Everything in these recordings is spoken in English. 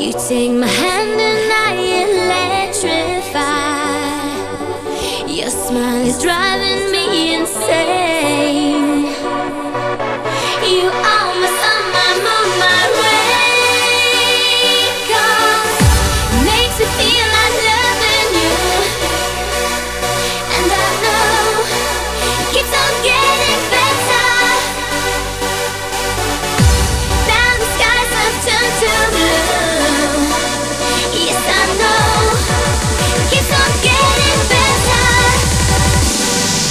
You take my hand and I electrify. Your smile is driving me insane. You are my sun, my moon, my rain. 'Cause it makes me feel like loving you. And I know it keeps on getting better. Now the skies have turned to blue. Yes, I know it keeps on getting better.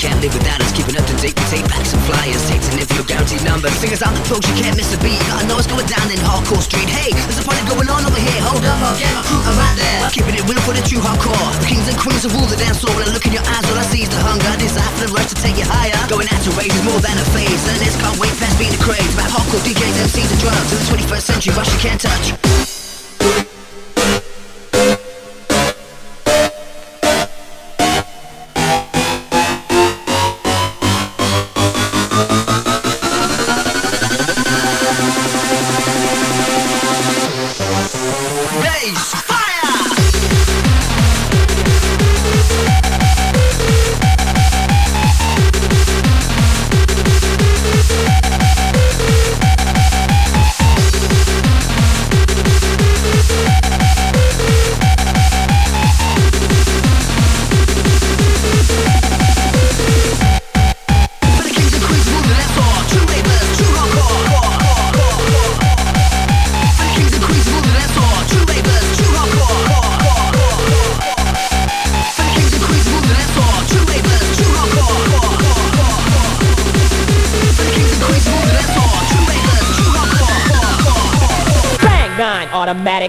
can't live without us. Keeping up to date, we take back some flyers. Takes an info guaranteed number. Fingers on the pulse, you can't miss a beat. Gotta know what's going down in Hardcore Street. Hey, there's a party going on over here. Hold up, I'll get my crew right there. Keeping it real for the true hardcore. The kings and queens who rule the dance floor. When I look in your eyes, all I see is the hunger, desire for the rush to take you higher. Going out to rage is more than a phase, and this can't wait past being a craze. Rap hardcore DJs, MCs and drugs. In the 21st century, rush you can't touch. Automatic.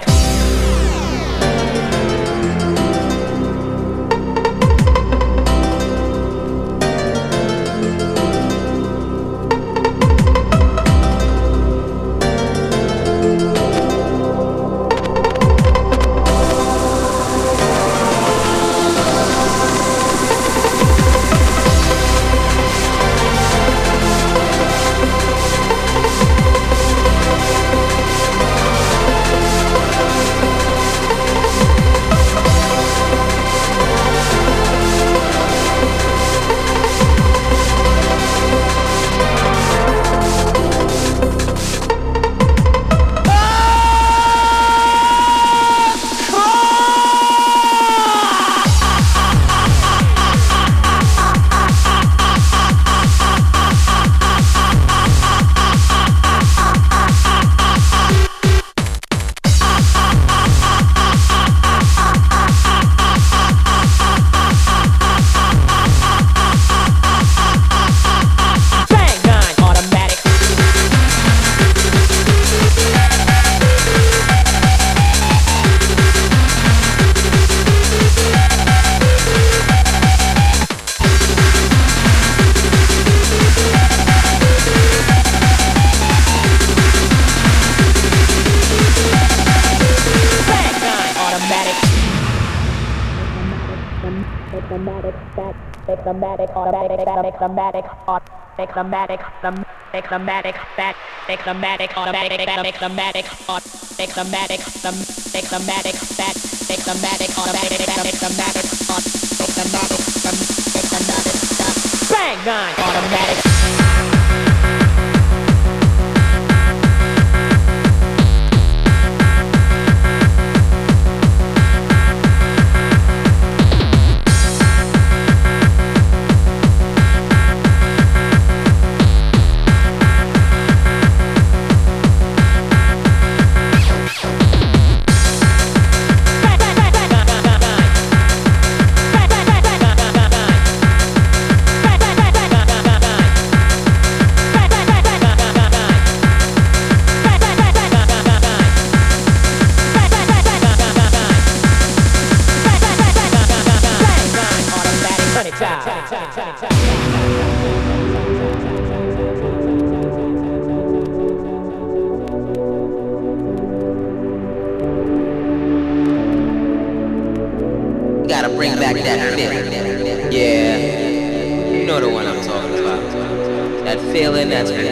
Gotta bring back that feeling. Yeah, you know the one I'm talking about. That feeling that's been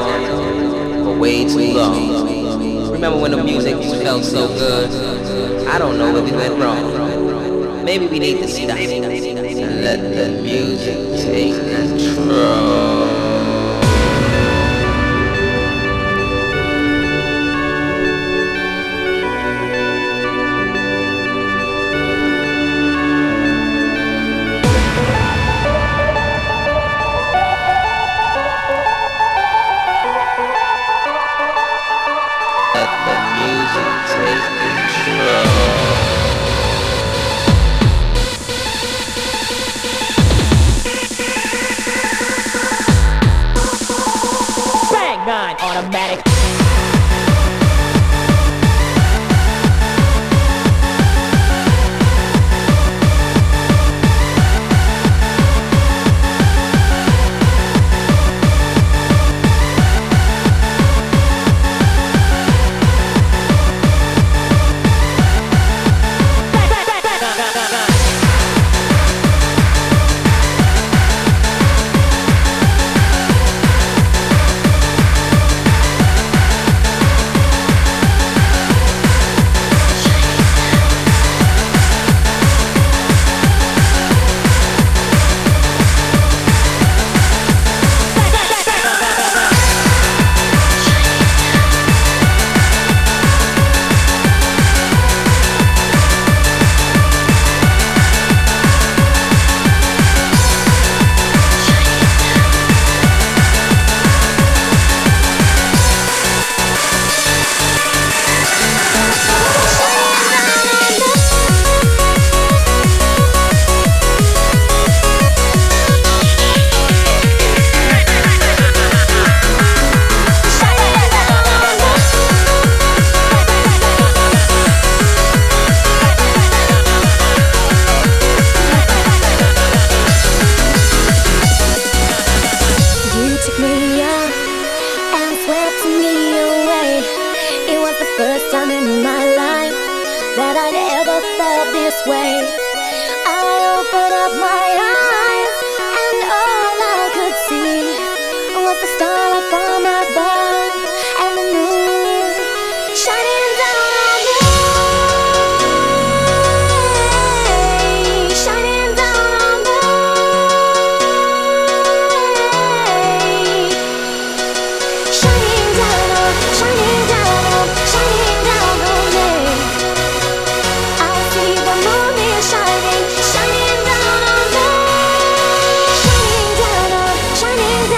gone for way too long. Remember when the music felt so good? I don't know where we went wrong. Maybe we need to stop and let the music take control. 9 automatic. First time in my life that I'd ever felt this way. I opened up my eyes and all I could see was the starlight from above and the moon shining down on me, shining down on me, shining down on, shining down on, shining down on me. I see the moon is shining, shining down on me, shining down on, shining down.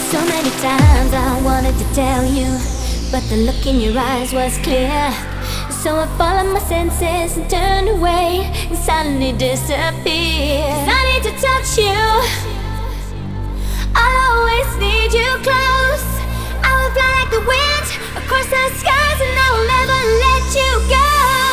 So many times I wanted to tell you, but the look in your eyes was clear. So I followed my senses and turned away and suddenly disappeared. 'Cause I need to touch you, I'll always need you close. I will fly like the wind across the skies, and I will never let you go.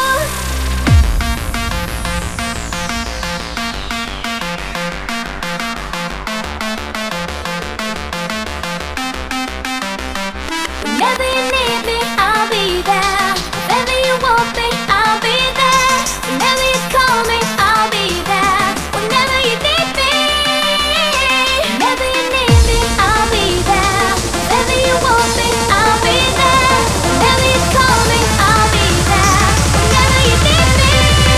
Whenever you need me, I'll be there. Whenever you want me, I'll be there. Whenever you call me, I'll be there. Whenever you need me, whenever you need me, I'll be there. Whenever you want me, I'll be there. Whenever you call me, I'll be there. Whenever you need me.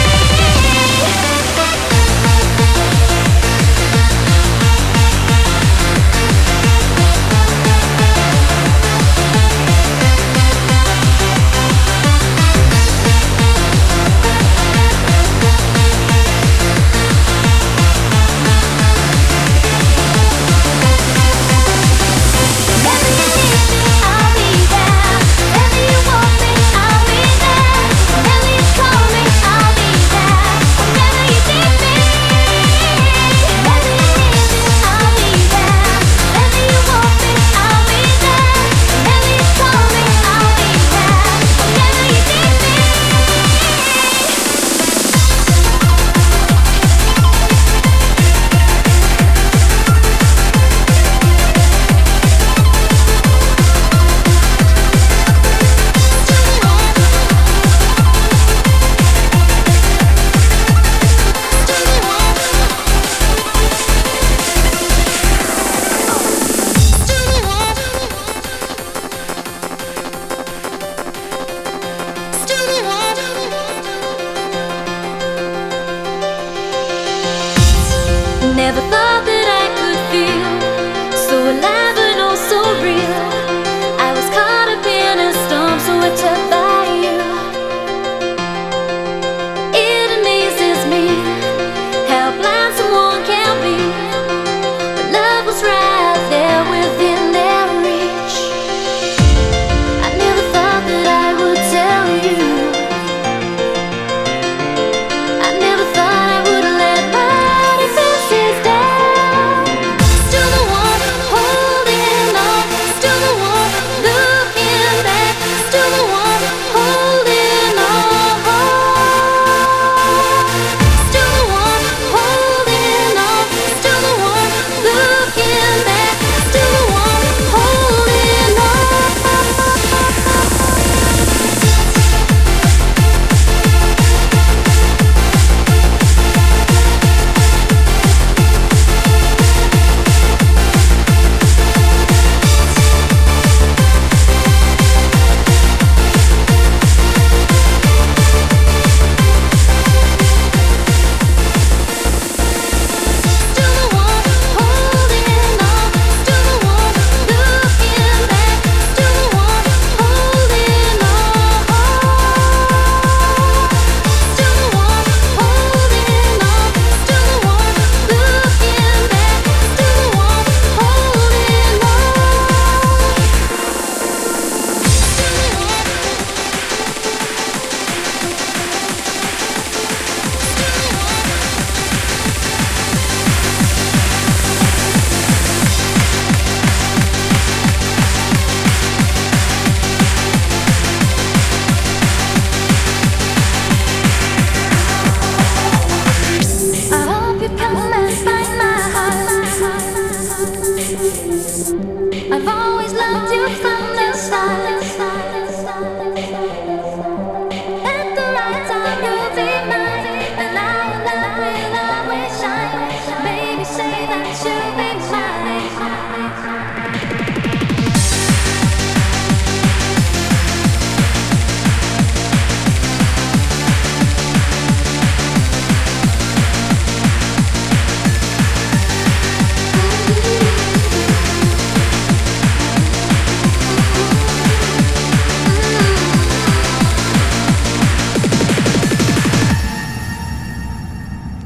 Never thought that I could feel so alive and oh so real. I was caught up in a storm, so I took by you. It amazes me how blind someone can be, but love was right there within their reach. I never thought that I would tell you. I never thought I would let my defenses down. Still the one holding on, still the one looking back, still the one holding on. Still the one holding on, still the one looking back, still the one holding on. Still the one holding on, still the one looking back, still the one holding on. Still the one holding on, still the one looking back, still the one holding on. I hope you come and find my heart. I've always loved you from the start. At the right time you'll be mine, and our love will always shine. Baby, say that you'll be mine.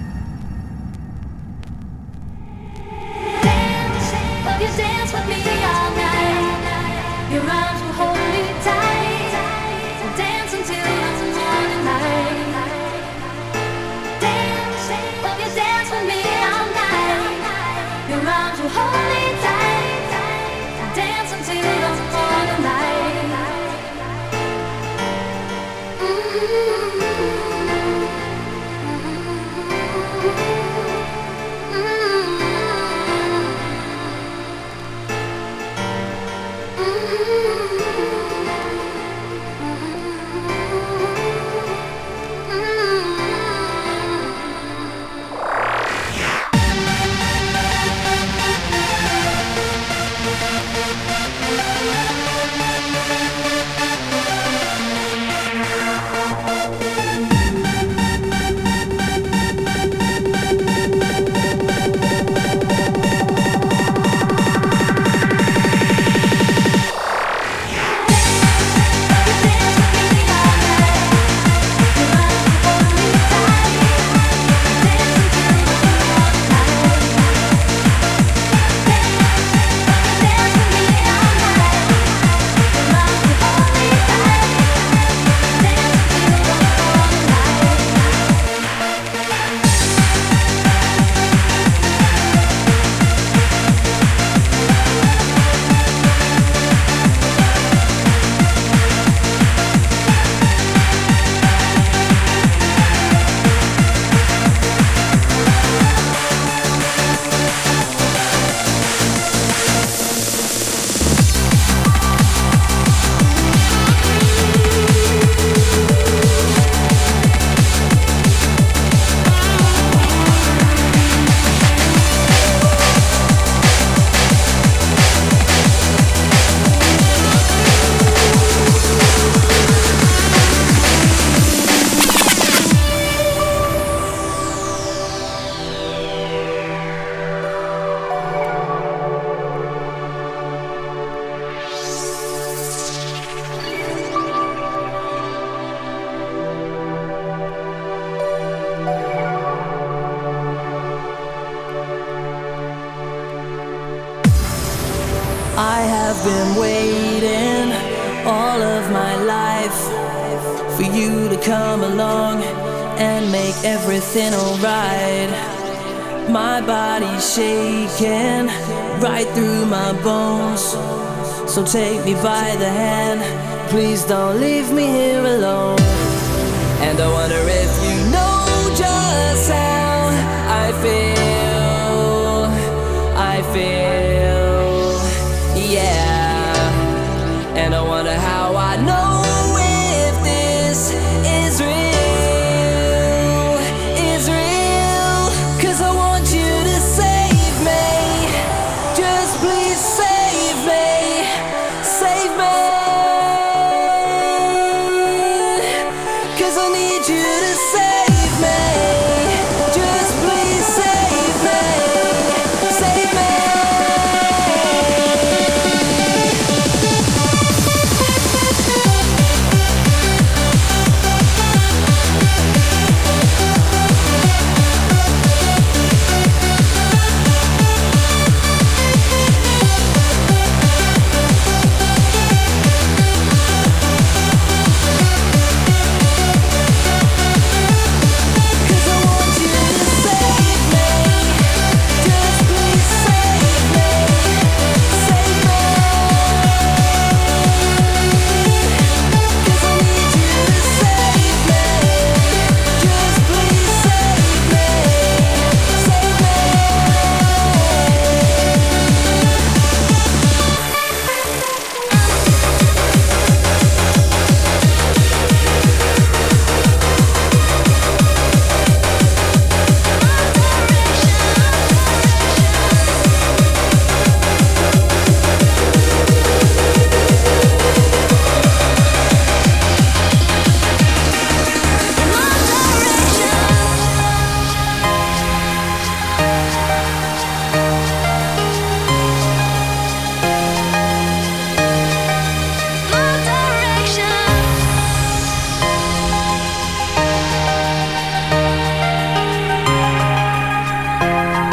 Dance, will you dance with me? Your arms will hold me tight. We'll dance until the morning light. Dance, will you dance with me all night? Your arms will hold me tight. We'll dance until the morning light. I have been waiting all of my life for you to come along and make everything alright. My body's shaking right through my bones, so take me by the hand, please don't leave me here alone. And I wonder if you know just how I feel, yeah. And I wonder how I know if this is real, is real. 'Cause I want you to save me, just please save me, save me. 'Cause I need you to save me, just please save me, save me.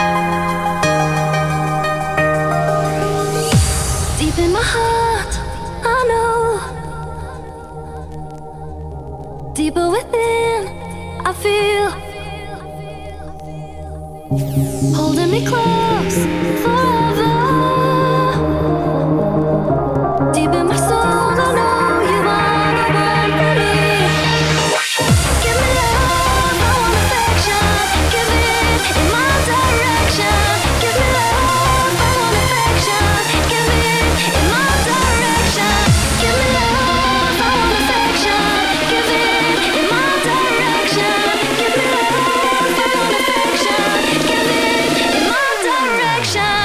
Deep in my heart, Deeper within, I feel holding me close forever. Deep in my soul, I know you are the one for me. Give me love, I want affection. Give it in my direction. Give me love, I want affection. Give it in my direction. Give me love, I want affection. Give it in my direction. Give me love, I want affection. Give it in my direction.